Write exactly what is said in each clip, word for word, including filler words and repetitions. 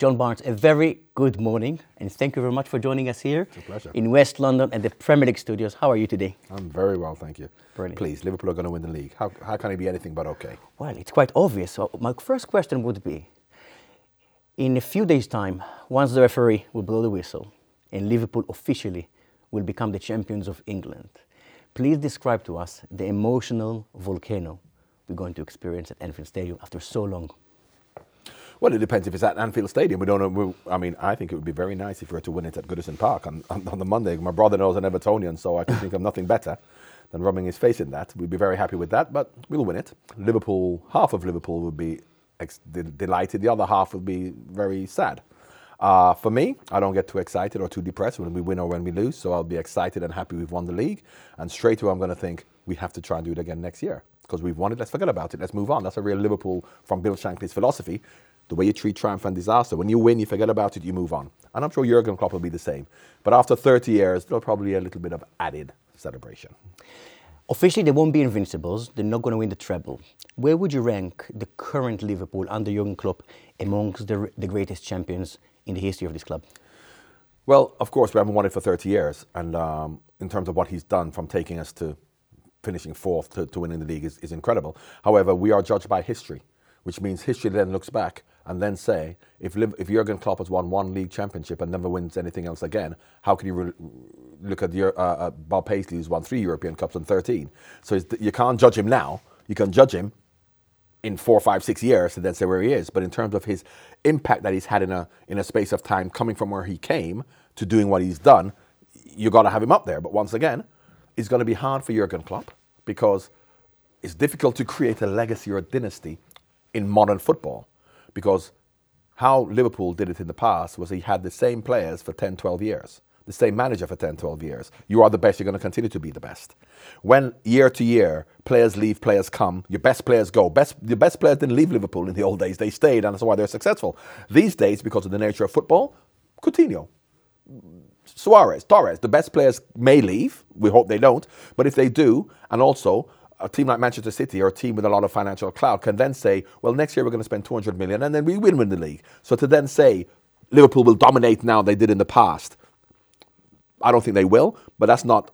John Barnes, a very good morning, and thank you very much for joining us here It's a pleasure. in West London at the Premier League studios. How are you today? I'm very well, thank you. Brilliant. Please, Liverpool are going to win the league. How, how can it be anything but okay? Well, it's quite obvious. So my first question would be, in a few days' time, once the referee will blow the whistle and Liverpool officially will become the champions of England, please describe to us the emotional volcano we're going to experience at Anfield Stadium after so long. Well, it depends if it's at Anfield Stadium. We don't know. We, I mean, I think it would be very nice if we were to win it at Goodison Park on, on, on the Monday. My brother-in-law is an Evertonian, so I can think of nothing better than rubbing his face in that. We'd be very happy with that, but we'll win it. Liverpool, half of Liverpool would be ex- de- delighted. The other half would be very sad. Uh, for me, I don't get too excited or too depressed when we win or when we lose, so I'll be excited and happy we've won the league. And straight away, I'm going to think we have to try and do it again next year because we've won it. Let's forget about it. Let's move on. That's a real Liverpool from Bill Shankly's philosophy. The way you treat triumph and disaster. When you win, you forget about it, you move on. And I'm sure Jurgen Klopp will be the same. But after thirty years, there'll probably be a little bit of added celebration. Officially, they won't be invincibles. They're not going to win the treble. Where would you rank the current Liverpool under Jurgen Klopp amongst the, the greatest champions in the history of this club? Well, of course, we haven't won it for thirty years. And um, in terms of what he's done from taking us to finishing fourth to, to winning the league is, is incredible. However, we are judged by history, which means history then looks back and then say, if Liv- if Jurgen Klopp has won one league championship and never wins anything else again, how can you re- look at your, uh, uh, Bob Paisley, who's won three European Cups and thirteen? So it's, you can't judge him now. You can judge him in four, five, six years and then say where he is. But in terms of his impact that he's had in a in a space of time, coming from where he came to doing what he's done, you got to have him up there. But once again, it's going to be hard for Jurgen Klopp because it's difficult to create a legacy or a dynasty in modern football, because how Liverpool did it in the past was he had the same players for ten, twelve years, the same manager for ten, twelve years. You are the best, you're going to continue to be the best. When year to year, players leave, players come, your best players go. Best, the best players didn't leave Liverpool in the old days, they stayed, and that's why they're successful. These days, because of the nature of football, Coutinho, Suarez, Torres, the best players may leave, we hope they don't, but if they do, and also a team like Manchester City or a team with a lot of financial clout can then say, well, next year we're going to spend two hundred million and then we will win the league. So to then say Liverpool will dominate now they did in the past, I don't think they will, but that's not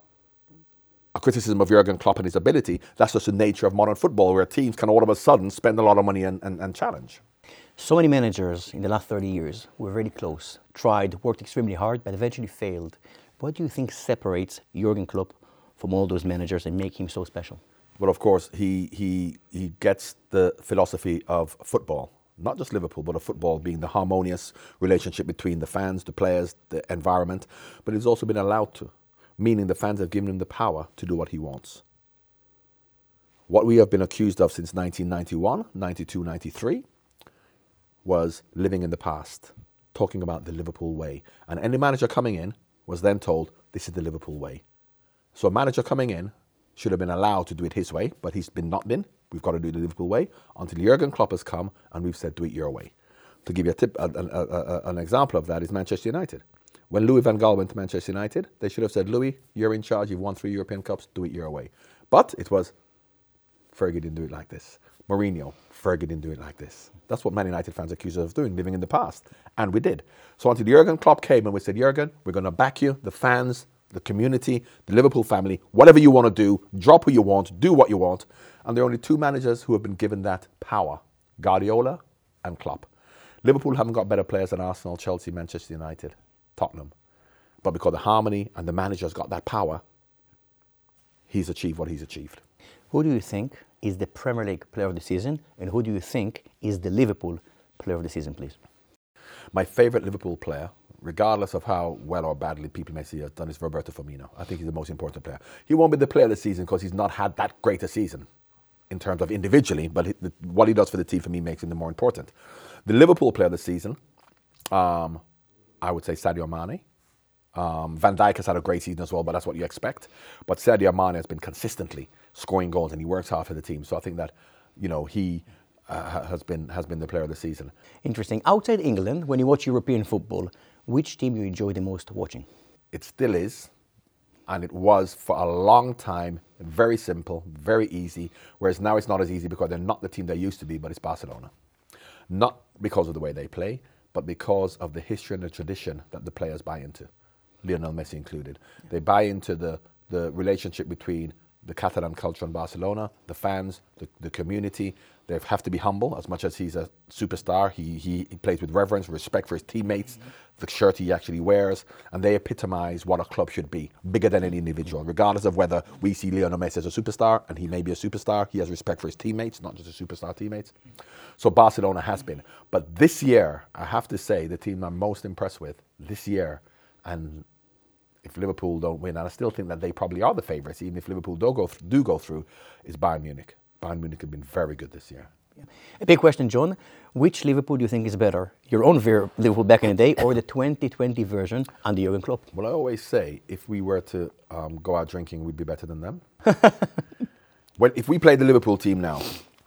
a criticism of Jurgen Klopp and his ability. That's just the nature of modern football where teams can all of a sudden spend a lot of money and, and, and challenge. So many managers in the last thirty years were really close, tried, worked extremely hard, but eventually failed. What do you think separates Jurgen Klopp from all those managers and make him so special? Well, of course, he, he he gets the philosophy of football, not just Liverpool, but of football being the harmonious relationship between the fans, the players, the environment. But he's also been allowed to, meaning the fans have given him the power to do what he wants. What we have been accused of since nineteen ninety-one, ninety-two, ninety-three was living in the past, talking about the Liverpool way. And any manager coming in was then told, this is the Liverpool way. So a manager coming in should have been allowed to do it his way, but he's been not been. We've got to do it the Liverpool way until Jurgen Klopp has come and we've said, do it your way. To give you a tip, a, a, a, a, an example of that is Manchester United. When Louis van Gaal went to Manchester United, they should have said, Louis, you're in charge, you've won three European Cups, do it your way. But it was, Fergie didn't do it like this. Mourinho, Fergie didn't do it like this. That's what Man United fans accuse us of doing, living in the past. And we did. So until Jurgen Klopp came and we said, Jurgen, we're going to back you, the fans, the community, the Liverpool family, whatever you want to do, drop who you want, do what you want. And there are only two managers who have been given that power, Guardiola and Klopp. Liverpool haven't got better players than Arsenal, Chelsea, Manchester United, Tottenham. But because the harmony and the manager's got that power, he's achieved what he's achieved. Who do you think is the Premier League player of the season and who do you think is the Liverpool player of the season, please? My favourite Liverpool player, regardless of how well or badly people may see has done, is Roberto Firmino. I think he's the most important player. He won't be the player of the season because he's not had that great a season in terms of individually, but he, the, what he does for the team for me makes him the more important. The Liverpool player of the season, um, I would say Sadio Mane. Um, Van Dijk has had a great season as well, but that's what you expect. But Sadio Mane has been consistently scoring goals and he works hard for the team. So I think that, you know, he uh, has been has been the player of the season. Interesting. Outside England, when you watch European football, which team you enjoy the most watching? It still is, and it was for a long time, very simple, very easy, whereas now it's not as easy because they're not the team they used to be, but it's Barcelona. Not because of the way they play, but because of the history and the tradition that the players buy into, Lionel Messi included. Yeah. They buy into the, the relationship between the Catalan culture in Barcelona, the fans, the, the community. They have to be humble. As much as he's a superstar, he, he, he plays with reverence, respect for his teammates, mm-hmm. the shirt he actually wears, and they epitomize what a club should be, bigger than any individual. Regardless of whether we see Lionel Messi as a superstar, and he may be a superstar, he has respect for his teammates, not just his superstar teammates. So Barcelona has been. But this year, I have to say, the team I'm most impressed with this year, and if Liverpool don't win, and I still think that they probably are the favourites, even if Liverpool do go, th- do go through, is Bayern Munich. Bayern Munich have been very good this year. Yeah. A big question, John. Which Liverpool do you think is better? Your own ver- Liverpool back in the day or the twenty twenty version under Jurgen Klopp? Well, I always say, if we were to um, go out drinking, we'd be better than them. Well, if we play the Liverpool team now,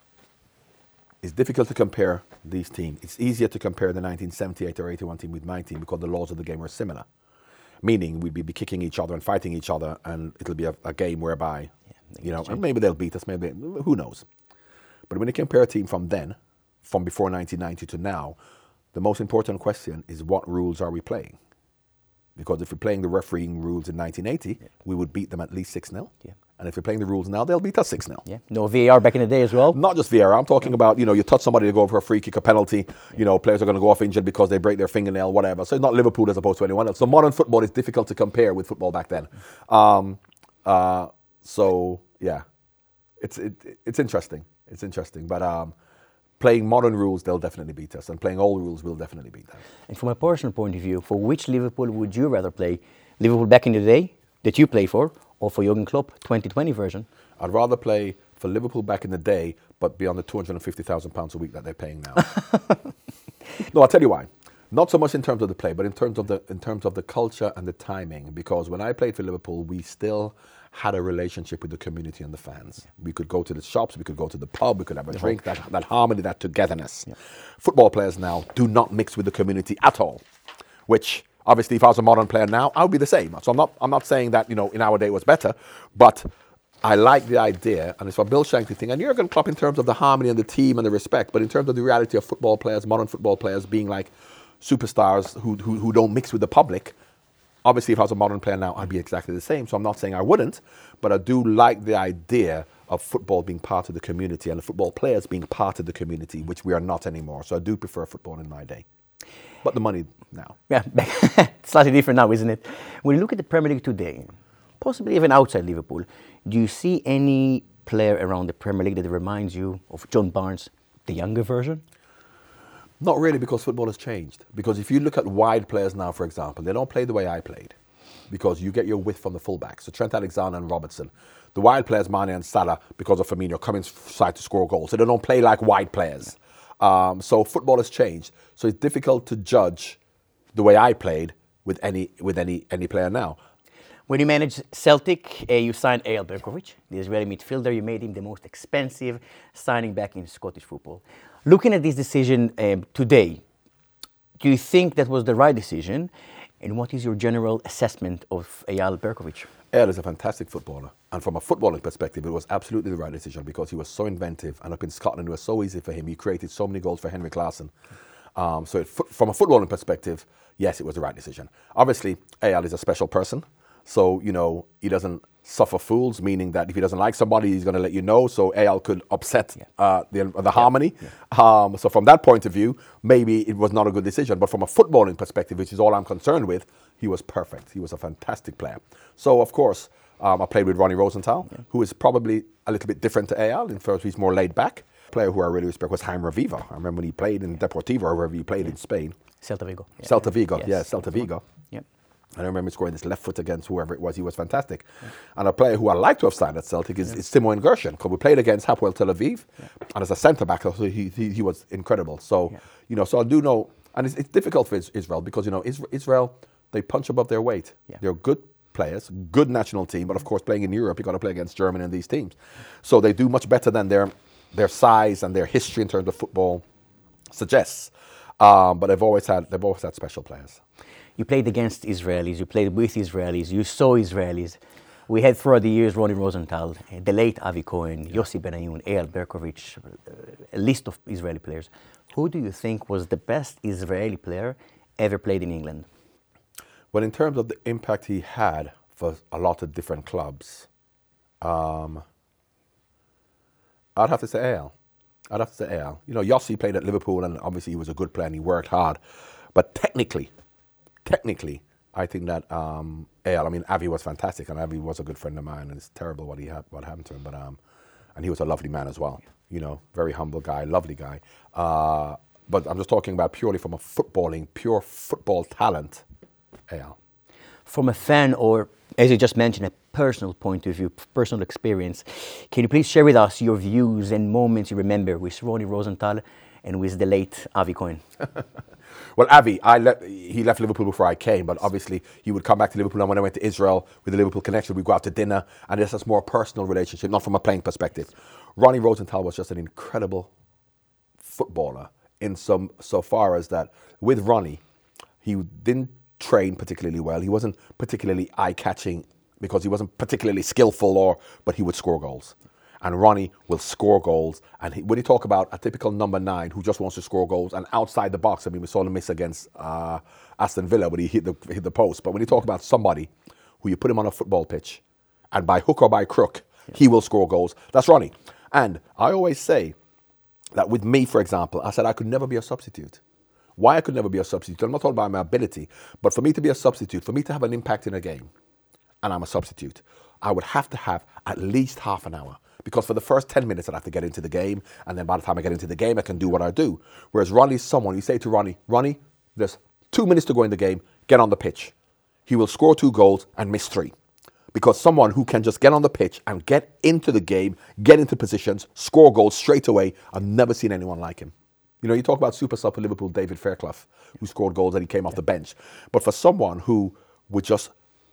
it's difficult to compare these teams. It's easier to compare the nineteen seventy-eight or eighty-one team with my team because the laws of the game are similar. Meaning we'd be kicking each other and fighting each other, and it'll be a, a game whereby, yeah, you know, and maybe they'll beat us, maybe, who knows. But when you compare a team from then, from before nineteen ninety to now, the most important question is what rules are we playing? Because if we're playing the refereeing rules in nineteen eighty, yeah. we would beat them at least six nil. Yeah. And if we're playing the rules now, they'll beat us six nil. Yeah. No V A R back in the day as well? Not just V A R. I'm talking yeah. about, you know, you touch somebody to go for a free kick, a penalty. Yeah. You know, players are going to go off injured because they break their fingernail, whatever. So it's not Liverpool as opposed to anyone else. So modern football is difficult to compare with football back then. Um, uh, so, yeah, it's it, it's interesting. It's interesting. But um, playing modern rules, they'll definitely beat us. And playing old rules will definitely beat them. And from a personal point of view, for which Liverpool would you rather play? Liverpool back in the day that you played for, or for Jurgen Klopp twenty twenty version? I'd rather play for Liverpool back in the day, but be on the two hundred fifty thousand pounds a week that they're paying now. No, I'll tell you why. Not so much in terms of the play, but in terms of the in terms of the culture and the timing. Because when I played for Liverpool, we still had a relationship with the community and the fans. Yeah. We could go to the shops, we could go to the pub, we could have a the drink, that, that harmony, that togetherness. Yeah. Football players now do not mix with the community at all, which obviously if I was a modern player now, I would be the same. So I'm not I'm not saying that, you know, in our day it was better, but I like the idea, and it's a Bill Shankly thing, and Jurgen Klopp in terms of the harmony and the team and the respect, but in terms of the reality of football players, modern football players being like superstars who, who, who don't mix with the public. Obviously, if I was a modern player now, I'd be exactly the same. So I'm not saying I wouldn't, but I do like the idea of football being part of the community and the football players being part of the community, which we are not anymore. So I do prefer football in my day. But the money now. Yeah, slightly different now, isn't it? When you look at the Premier League today, possibly even outside Liverpool, do you see any player around the Premier League that reminds you of John Barnes, the younger version? Not really, because football has changed. Because if you look at wide players now, for example, they don't play the way I played. Because you get your width from the fullbacks. So Trent Alexander and Robertson. The wide players, Mane and Salah, because of Firmino, come inside to score goals. So they don't play like wide players. Um, so football has changed. So it's difficult to judge the way I played with any with any any player now. When you managed Celtic, uh, you signed Eyal Berkovic, the Israeli midfielder. You made him the most expensive signing back in Scottish football. Looking at this decision um, today, do you think that was the right decision? And what is your general assessment of Eyal Berkovic? Eyal is a fantastic footballer. And from a footballing perspective, it was absolutely the right decision because he was so inventive. And up in Scotland, it was so easy for him. He created so many goals for Henrik Larsson. Um, so it, from a footballing perspective, yes, it was the right decision. Obviously, Eyal is a special person. So, you know, he doesn't suffer fools, meaning that if he doesn't like somebody, he's going to let you know. So Eyal could upset yeah. uh, the, the yeah. harmony. Yeah. Um, so from that point of view, maybe it was not a good decision. But from a footballing perspective, which is all I'm concerned with, he was perfect. He was a fantastic player. So, of course, um, I played with Ronnie Rosenthal, yeah. who is probably a little bit different to Eyal. In first, he's more laid back. Player who I really respect was Jaime Reviva. I remember when he played in Deportivo, or wherever he played yeah. in Spain. Celta Vigo. Yeah. Celta Vigo, yes. yeah, Celta Vigo. Yep. I remember scoring this left foot against whoever it was. He was fantastic. Yeah. And a player who I like to have signed at Celtic is, yeah. is Timo Gershon, because we played against Hapoel Tel Aviv, yeah. and as a centre-back, so he, he he was incredible. So, yeah. you know, so I do know, and it's, it's difficult for Israel because, you know, Israel, they punch above their weight. Yeah. They're good players, good national team, but of course playing in Europe, you've got to play against Germany and these teams. So they do much better than their their size and their history in terms of football suggests. Um, but they've always had they've always had special players. You played against Israelis, you played with Israelis, you saw Israelis. We had throughout the years Ronnie Rosenthal, uh, the late Avi Cohen, yeah. Yossi Benayoun, Eyal Berkovic, uh, a list of Israeli players. Who do you think was the best Israeli player ever played in England? Well, in terms of the impact he had for a lot of different clubs, um, I'd have to say Eyal. I'd have to say Eyal. You know, Yossi played at Liverpool, and obviously he was a good player and he worked hard. But technically, technically, I think that um, Eyal, I mean, Avi was fantastic, and Avi was a good friend of mine, and it's terrible what he had, what happened to him. But um, and he was a lovely man as well. You know, very humble guy, lovely guy. Uh, but I'm just talking about purely from a footballing, pure football talent, Eyal. From a fan, or as you just mentioned, a personal point of view, personal experience, can you please share with us your views and moments you remember with Ronnie Rosenthal and with the late Avi Cohen? Well, Avi, I le- he left Liverpool before I came, but obviously he would come back to Liverpool, and when I went to Israel with the Liverpool connection, we'd go out to dinner, and this is more a personal relationship, not from a playing perspective. Ronnie Rosenthal was just an incredible footballer in some so far as that with Ronnie, he didn't train particularly well. He wasn't particularly eye-catching because he wasn't particularly skillful, or but he would score goals. And Ronnie will score goals. And he, when you talk about a typical number nine who just wants to score goals and outside the box, I mean, we saw him miss against uh, Aston Villa when he hit the, hit the post. But when you talk about somebody who you put him on a football pitch and by hook or by crook, yeah. he will score goals, that's Ronnie. And I always say that with me, for example, I said I could never be a substitute. Why I could never be a substitute? I'm not talking about my ability, but for me to be a substitute, for me to have an impact in a game, and I'm a substitute, I would have to have at least half an hour. Because for the first ten minutes, I'd have to get into the game, and then by the time I get into the game, I can do what I do. Whereas Ronnie's someone, you say to Ronnie, Ronnie, there's two minutes to go in the game, get on the pitch. He will score two goals and miss three. Because someone who can just get on the pitch and get into the game, get into positions, score goals straight away, I've never seen anyone like him. You know, you talk about super sub for Liverpool, David Fairclough, who scored goals and he came off the bench. But for someone who would just,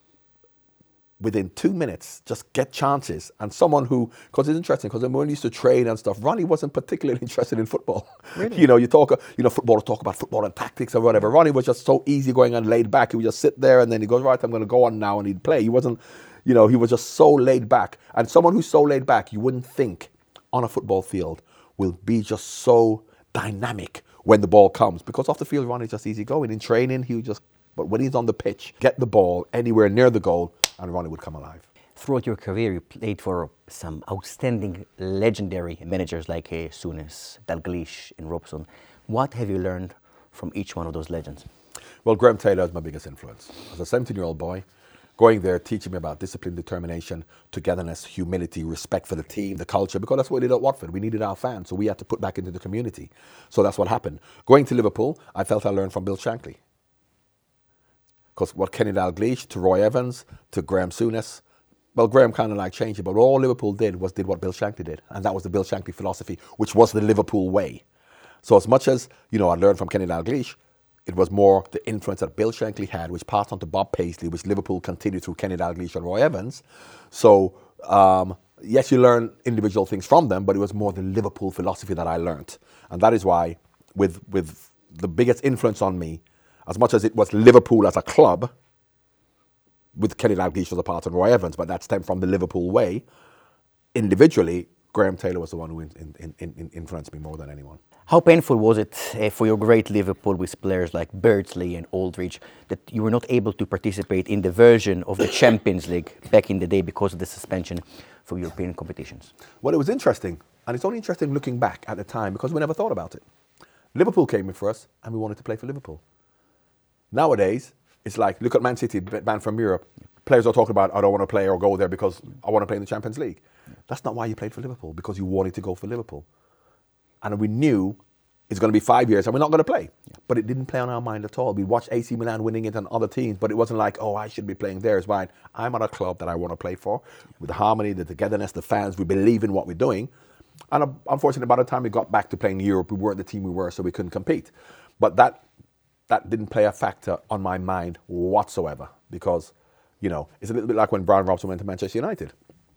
within two minutes, just get chances, and someone who, because it's interesting, because when we used to train and stuff, Ronnie wasn't particularly interested in football. Really? You know, you talk, you know, footballers talk about football and tactics or whatever. Ronnie was just so easygoing and laid back. He would just sit there and then he goes, right, I'm going to go on now, and he'd play. He wasn't, you know, he was just so laid back. And someone who's so laid back, you wouldn't think on a football field will be just so dynamic when the ball comes, because off the field Ronnie's just easy going. In training he would just, but when he's on the pitch, get the ball anywhere near the goal and Ronnie would come alive. Throughout your career you played for some outstanding legendary managers like uh, Souness, Dalglish and Robson. What have you learned from each one of those legends? Well, Graham Taylor is my biggest influence. As a seventeen year old boy, going there, teaching me about discipline, determination, togetherness, humility, respect for the team, the culture, because that's what we did at Watford. We needed our fans, so we had to put back into the community. So that's what happened. Going to Liverpool, I felt I learned from Bill Shankly. Because what Kenny Dalglish, to Roy Evans, to Graham Souness, well, Graham kind of like changed it, but all Liverpool did was did what Bill Shankly did, and that was the Bill Shankly philosophy, which was the Liverpool way. So as much as, you know, I learned from Kenny Dalglish, it was more the influence that Bill Shankly had, which passed on to Bob Paisley, which Liverpool continued through Kenny Dalglish and Roy Evans. So, um, yes, you learn individual things from them, but it was more the Liverpool philosophy that I learned. And that is why, with with the biggest influence on me, as much as it was Liverpool as a club, with Kenny Dalglish as a part of Roy Evans, but that stemmed from the Liverpool way, individually, Graham Taylor was the one who in, in, in influenced me more than anyone. How painful was it uh, for your great Liverpool with players like Beardsley and Aldridge that you were not able to participate in the version of the Champions League back in the day because of the suspension for European competitions? Well, it was interesting, and it's only interesting looking back at the time because we never thought about it. Liverpool came in for us, and we wanted to play for Liverpool. Nowadays, it's like, look at Man City, banned from Europe. Players are talking about, I don't want to play or go there because I want to play in the Champions League. That's not why you played for Liverpool, because you wanted to go for Liverpool. And we knew it's going to be five years and we're not going to play. Yeah. But it didn't play on our mind at all. We watched A C Milan winning it and other teams, but it wasn't like, oh, I should be playing there. It's fine. I'm at a club that I want to play for, with the harmony, the togetherness, the fans. We believe in what we're doing. And uh, unfortunately, by the time we got back to playing in Europe, we weren't the team we were, so we couldn't compete. But that that didn't play a factor on my mind whatsoever, because, you know, it's a little bit like when Brian Robson went to Manchester United.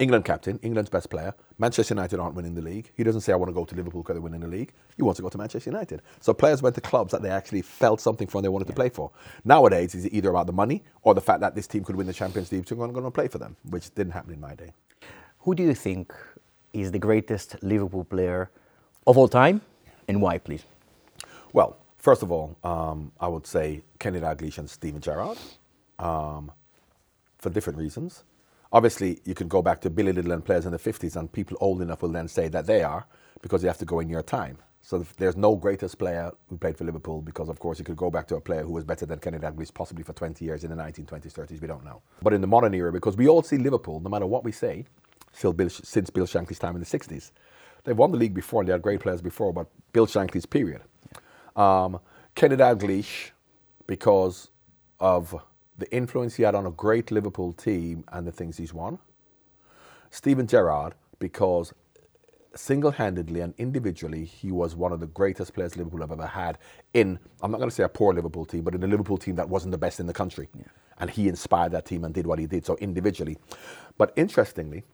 England captain, England's best player. Manchester United aren't winning the league. He doesn't say, I want to go to Liverpool because they're winning the league. He wants to go to Manchester United. So players went to clubs that they actually felt something for and they wanted yeah. to play for. Nowadays, it's either about the money or the fact that this team could win the Champions League, so I'm going to play for them, which didn't happen in my day. Who do you think is the greatest Liverpool player of all time, and why, please? Well, first of all, um, I would say Kenny Dalglish and Steven Gerrard, um, for different reasons. Obviously, you can go back to Billy Little and players in the fifties, and people old enough will then say that they are, because you have to go in your time. So there's no greatest player who played for Liverpool, because of course you could go back to a player who was better than Kenny Dalglish possibly for twenty years in the nineteen twenties, thirties, we don't know. But in the modern era, because we all see Liverpool, no matter what we say, still Bill, since Bill Shankly's time in the sixties. They've won the league before and they had great players before, but Bill Shankly's period. Um, Kenny Dalglish, because of the influence he had on a great Liverpool team and the things he's won. Steven Gerrard, because single-handedly and individually, he was one of the greatest players Liverpool have ever had in, I'm not going to say a poor Liverpool team, but in a Liverpool team that wasn't the best in the country. Yeah. And he inspired that team and did what he did, so individually. But interestingly,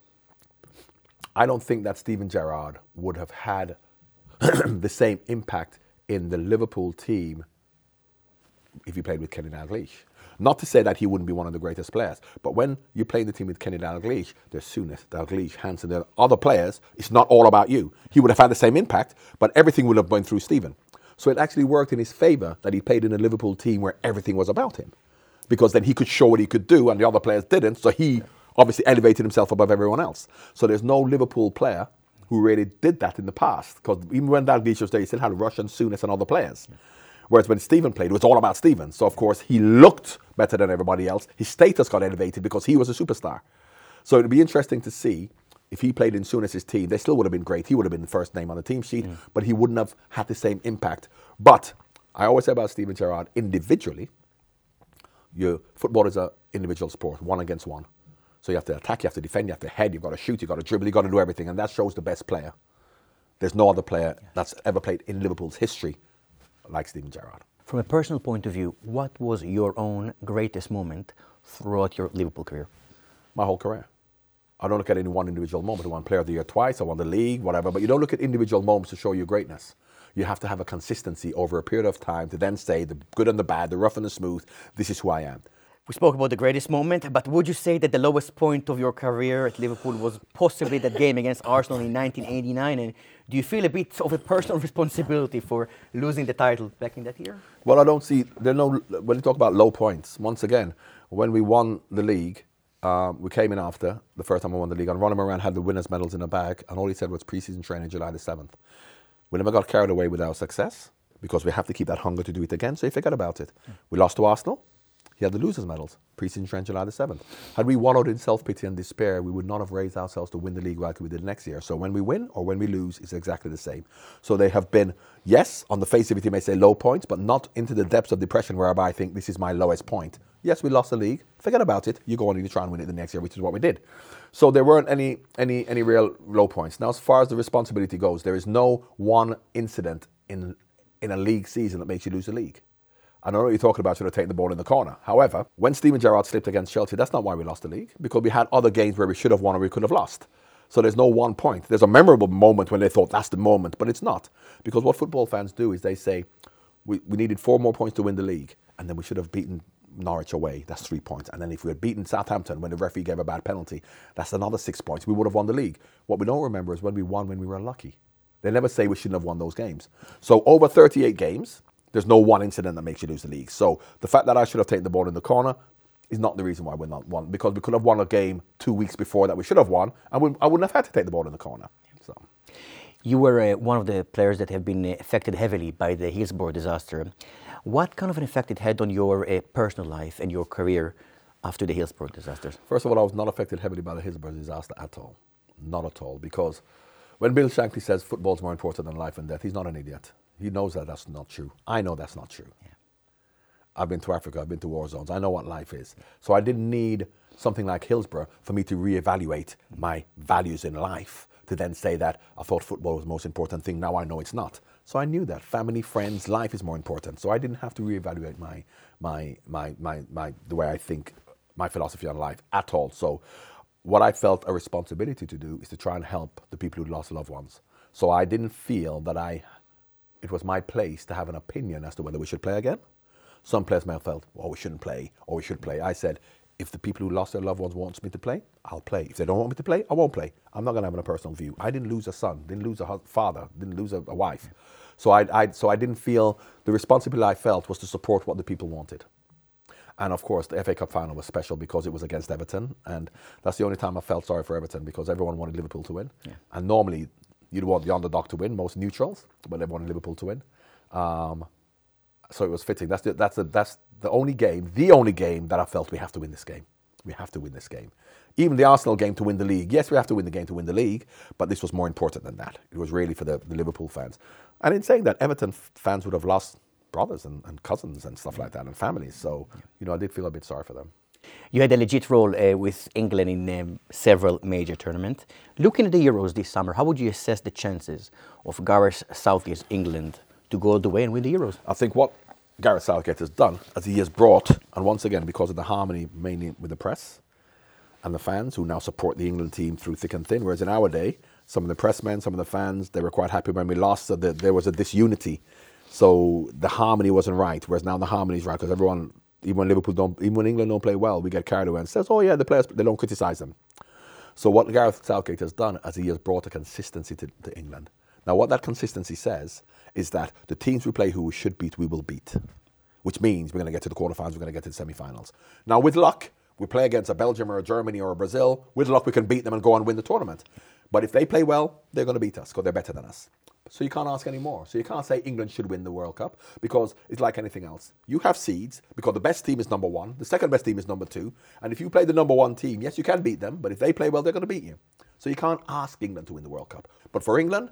I don't think that Steven Gerrard would have had the same impact in the Liverpool team if he played with Kenny Dalglish. Not to say that he wouldn't be one of the greatest players, but when you play the team with Kenny Dalglish, there's Souness, Dalglish, Hansen, there are other players. It's not all about you. He would have had the same impact, but everything would have gone through Steven. So it actually worked in his favour that he played in a Liverpool team where everything was about him, because then he could show what he could do and the other players didn't, so he obviously elevated himself above everyone else. So there's no Liverpool player who really did that in the past, because even when Dalglish was there, he still had Rush and Souness and other players. Yeah. Whereas when Steven played, it was all about Steven. So, of course, he looked better than everybody else. His status got elevated because he was a superstar. So it would be interesting to see if he played in Souness's team. They still would have been great. He would have been the first name on the team sheet, mm. but he wouldn't have had the same impact. But I always say about Steven Gerrard, individually, your football is an individual sport, one against one. So you have to attack, you have to defend, you have to head, you've got to shoot, you've got to dribble, you've got to do everything. And that shows the best player. There's no other player that's ever played in Liverpool's history like Steven Gerrard. From a personal point of view, what was your own greatest moment throughout your Liverpool career? My whole career. I don't look at any one individual moment. I won Player of the Year twice, I won the league, whatever, but you don't look at individual moments to show your greatness. You have to have a consistency over a period of time to then say the good and the bad, the rough and the smooth, this is who I am. We spoke about the greatest moment, but would you say that the lowest point of your career at Liverpool was possibly that game against Arsenal in nineteen eighty-nine? And do you feel a bit of a personal responsibility for losing the title back in that year? Well, I don't see, there no, when you talk about low points, once again, when we won the league, um, we came in after the first time we won the league, and Ronnie Moran had the winners' medals in a bag, and all he said was pre-season training July the seventh. We never got carried away with our success, because we have to keep that hunger to do it again, so you forget about it. Mm. We lost to Arsenal. He had the losers' medals, pre-season training July the seventh. Had we wallowed in self-pity and despair, we would not have raised ourselves to win the league like we did next year. So when we win or when we lose, it's exactly the same. So they have been, yes, on the face of it, you may say low points, but not into the depths of depression whereby I think this is my lowest point. Yes, we lost the league. Forget about it. You go on and you try and win it the next year, which is what we did. So there weren't any, any, any real low points. Now, as far as the responsibility goes, there is no one incident in, in a league season that makes you lose the league. I know what you're talking about, should have taken the ball in the corner. However, when Steven Gerrard slipped against Chelsea, that's not why we lost the league, because we had other games where we should have won or we could have lost. So there's no one point. There's a memorable moment when they thought that's the moment, but it's not. Because what football fans do is they say, we, we needed four more points to win the league, and then we should have beaten Norwich away, that's three points. And then if we had beaten Southampton when the referee gave a bad penalty, that's another six points. We would have won the league. What we don't remember is when we won when we were unlucky. They never say we shouldn't have won those games. So over thirty-eight games, there's no one incident that makes you lose the league. So the fact that I should have taken the ball in the corner is not the reason why we're not won, because we could have won a game two weeks before that we should have won, and we, I wouldn't have had to take the ball in the corner. So, you were uh, one of the players that have been uh, affected heavily by the Hillsborough disaster. What kind of an effect it had on your uh, personal life and your career after the Hillsborough disasters? First of all, I was not affected heavily by the Hillsborough disaster at all. Not at all, because when Bill Shankly says football's more important than life and death, he's not an idiot. He knows that that's not true. I know that's not true. Yeah. I've been to Africa, I've been to war zones, I know what life is. So I didn't need something like Hillsborough for me to reevaluate my values in life, to then say that I thought football was the most important thing, now I know it's not. So I knew that family, friends, life is more important. So I didn't have to reevaluate my, my, my, my, my, the way I think, my philosophy on life at all. So what I felt a responsibility to do is to try and help the people who lost loved ones. So I didn't feel that I, it was my place to have an opinion as to whether we should play again. Some players may have felt, oh, we shouldn't play, or we should play. I said, if the people who lost their loved ones want me to play, I'll play. If they don't want me to play, I won't play. I'm not going to have a personal view. I didn't lose a son, didn't lose a father, didn't lose a, a wife. So I, I, so I didn't feel, the responsibility I felt was to support what the people wanted. And of course, the F A Cup final was special because it was against Everton. And that's the only time I felt sorry for Everton, because everyone wanted Liverpool to win. Yeah. And normally, you'd want the underdog to win, most neutrals, but they wanted Liverpool to win. Um, so it was fitting. That's the, that's, the, that's the only game, the only game that I felt we have to win this game. We have to win this game. Even the Arsenal game to win the league. Yes, we have to win the game to win the league, but this was more important than that. It was really for the, the Liverpool fans. And in saying that, Everton fans would have lost brothers and, and cousins and stuff like that, and families. So, you know, I did feel a bit sorry for them. You had a legit role uh, with England in um, several major tournaments. Looking at the Euros this summer, how would you assess the chances of Gareth Southgate's England to go all the way and win the Euros? I think what Gareth Southgate has done, as he has brought, and once again, because of the harmony mainly with the press and the fans who now support the England team through thick and thin, whereas in our day, some of the pressmen, some of the fans, they were quite happy when we lost, so that there was a disunity. So the harmony wasn't right, whereas now the harmony is right, because everyone, even when Liverpool don't, even when England don't play well, we get carried away and says, oh yeah, the players, they don't criticise them. So what Gareth Southgate has done, as he has brought a consistency to, to England. Now what that consistency says is that the teams we play who we should beat, we will beat. Which means we're going to get to the quarterfinals, we're going to get to the semi-finals. Now with luck, we play against a Belgium or a Germany or a Brazil, with luck we can beat them and go on and win the tournament. But if they play well, they're going to beat us because they're better than us. So you can't ask any more. So you can't say England should win the World Cup, because it's like anything else. You have seeds because the best team is number one, the second best team is number two. And if you play the number one team, yes, you can beat them, but if they play well, they're going to beat you. So you can't ask England to win the World Cup. But for England,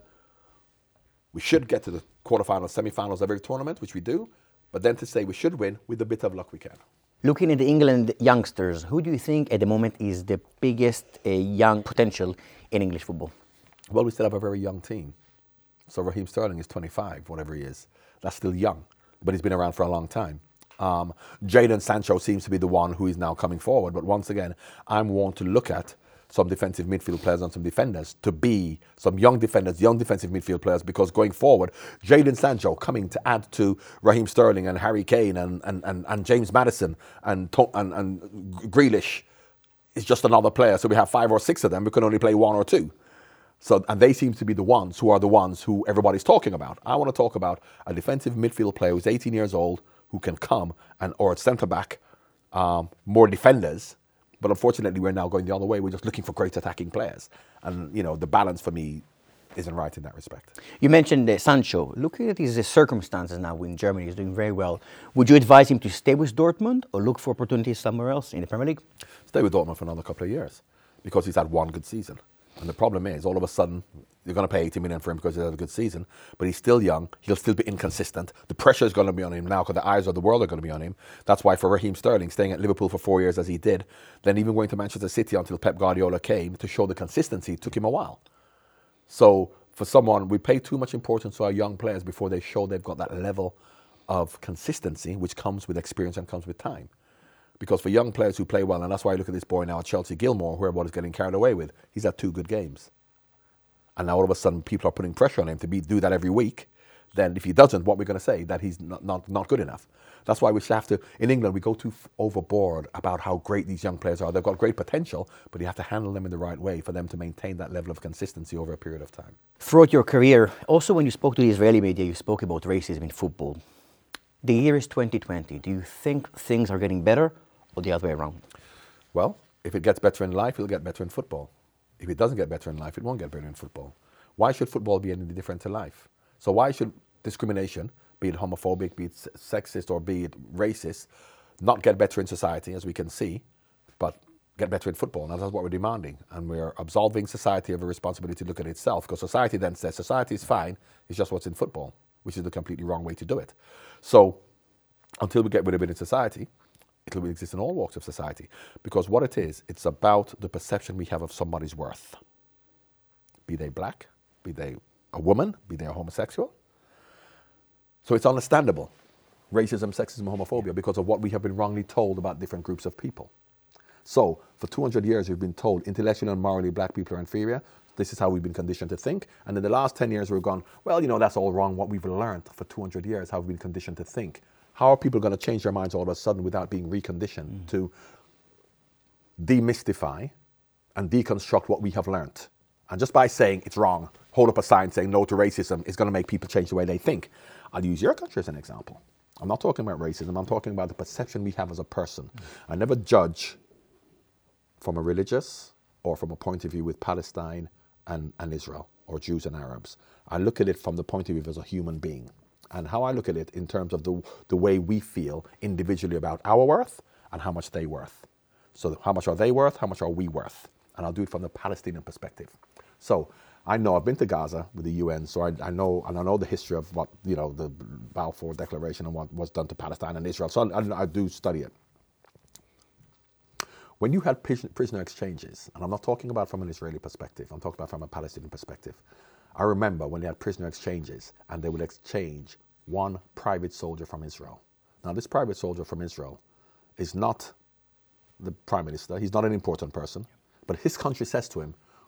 we should get to the quarterfinals, semi-finals of every tournament, which we do. But then to say we should win, with a bit of luck we can. Looking at the England youngsters, who do you think at the moment is the biggest uh, young potential in English football? Well, we still have a very young team. So Raheem Sterling is twenty-five, whatever he is. That's still young, but he's been around for a long time. Um, Jadon Sancho seems to be the one who is now coming forward. But once again, I'm want to look at some defensive midfield players and some defenders to be some young defenders, young defensive midfield players, because going forward, Jadon Sancho coming to add to Raheem Sterling and Harry Kane and, and, and, and James Maddison and, and, and Grealish is just another player. So we have five or six of them. We can only play one or two. So, and they seem to be the ones who are the ones who everybody's talking about. I want to talk about a defensive midfield player who's eighteen years old, who can come, and or a centre-back, um, more defenders. But unfortunately, we're now going the other way. We're just looking for great attacking players. And, you know, the balance for me isn't right in that respect. You mentioned uh, Sancho. Looking at his uh, circumstances now in Germany, he's doing very well. Would you advise him to stay with Dortmund or look for opportunities somewhere else in the Premier League? Stay with Dortmund for another couple of years, because he's had one good season. And the problem is, all of a sudden, you're going to pay eighty million for him because he's had a good season, but he's still young. He'll still be inconsistent. The pressure is going to be on him now because the eyes of the world are going to be on him. That's why for Raheem Sterling, staying at Liverpool for four years as he did, then even going to Manchester City until Pep Guardiola came to show the consistency, it took him a while. So for someone, we pay too much importance to our young players before they show they've got that level of consistency, which comes with experience and comes with time. Because for young players who play well, and that's why I look at this boy now at Chelsea, Gilmore, who everybody's getting carried away with, he's had two good games. And now all of a sudden people are putting pressure on him to be, do that every week. Then if he doesn't, what we're going to say? That he's not, not, not good enough. That's why we have to, in England, we go too f- overboard about how great these young players are. They've got great potential, but you have to handle them in the right way for them to maintain that level of consistency over a period of time. Throughout your career, also when you spoke to the Israeli media, you spoke about racism in football. The year is twenty twenty. Do you think things are getting better or the other way around? Well, if it gets better in life, it'll get better in football. If it doesn't get better in life, it won't get better in football. Why should football be any different to life? So why should discrimination, be it homophobic, be it sexist, or be it racist, not get better in society, as we can see, but get better in football? And that's what we're demanding. And we're absolving society of a responsibility to look at itself, because society then says society is fine, it's just what's in football, which is the completely wrong way to do it. So until we get rid of it in society, it will exist in all walks of society. Because what it is, it's about the perception we have of somebody's worth. Be they black, be they a woman, be they a homosexual. So it's understandable, racism, sexism, homophobia, because of what we have been wrongly told about different groups of people. So for two hundred years, we've been told intellectually and morally black people are inferior. This is how we've been conditioned to think. And in the last ten years, we've gone, well, you know, that's all wrong. What we've learned for two hundred years, how we've been conditioned to think. How are people going to change their minds all of a sudden without being reconditioned mm. to demystify and deconstruct what we have learned? And just by saying it's wrong, hold up a sign saying no to racism is going to make people change the way they think. I'll use your country as an example. I'm not talking about racism. I'm talking about the perception we have as a person. Mm. I never judge from a religious or from a point of view with Palestine and, and Israel or Jews and Arabs. I look at it from the point of view as a human being. And how I look at it in terms of the, the way we feel individually about our worth and how much they worth. So how much are they worth? How much are we worth? And I'll do it from the Palestinian perspective. So I know I've been to Gaza with the U N, so I, I know and I know the history of what, you know, the Balfour Declaration and what was done to Palestine and Israel. So I, I do study it. When you had prisoner exchanges, and I'm not talking about from an Israeli perspective, I'm talking about from a Palestinian perspective. I remember when they had prisoner exchanges and they would exchange one private soldier from Israel. Now this private soldier from Israel is not the prime minister, he's not an important person, but his country says to him,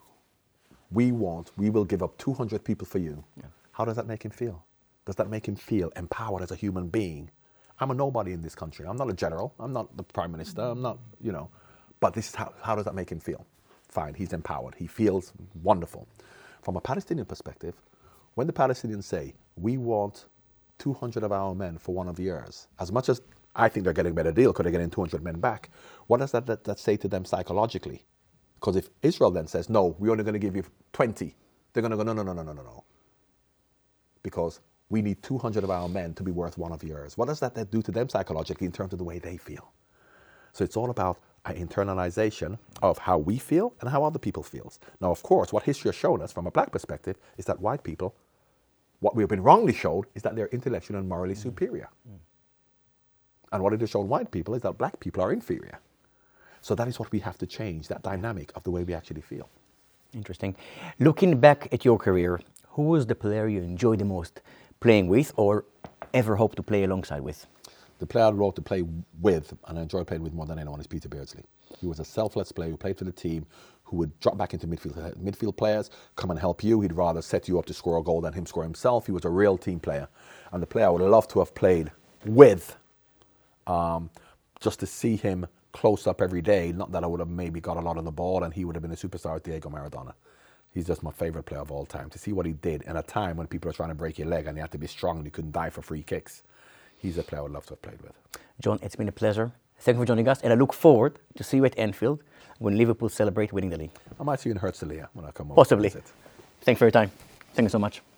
we want, we will give up two hundred people for you. Yeah. How does that make him feel? Does that make him feel empowered as a human being? I'm a nobody in this country. I'm not a general, I'm not the prime minister, I'm not, you know, but this is how, how does that make him feel? Fine, he's empowered, he feels wonderful. From a Palestinian perspective, when the Palestinians say, we want two hundred of our men for one of yours, as much as I think they're getting a better deal because they're getting two hundred men back, what does that, that, that say to them psychologically? Because if Israel then says, no, we're only going to give you twenty, they're going to go, no, no, no, no, no, no, no. Because we need two hundred of our men to be worth one of yours. What does that, that do to them psychologically in terms of the way they feel? So it's all about an internalization of how we feel and how other people feel. Now, of course, what history has shown us from a black perspective is that white people, what we've been wrongly showed is that they're intellectually and morally mm. superior. Mm. And what it has shown white people is that black people are inferior. So that is what we have to change, that dynamic of the way we actually feel. Interesting. Looking back at your career, who was the player you enjoyed the most playing with or ever hoped to play alongside with? The player I wrote to play with, and I enjoy playing with more than anyone, is Peter Beardsley. He was a selfless player who played for the team, who would drop back into midfield, midfield players, come and help you. He'd rather set you up to score a goal than him score himself. He was a real team player. And the player I would love to have played with, um, just to see him close up every day, not that I would have maybe got a lot on the ball and he would have been a superstar, Diego Maradona. He's just my favorite player of all time. To see what he did in a time when people are trying to break your leg and you had to be strong and you couldn't die for free kicks. He's a player I would love to have played with. John, it's been a pleasure. Thank you for joining us, and I look forward to see you at Anfield when Liverpool celebrate winning the league. I might see you in Herzliya when I come over. Possibly. Thanks for your time. Thank you so much.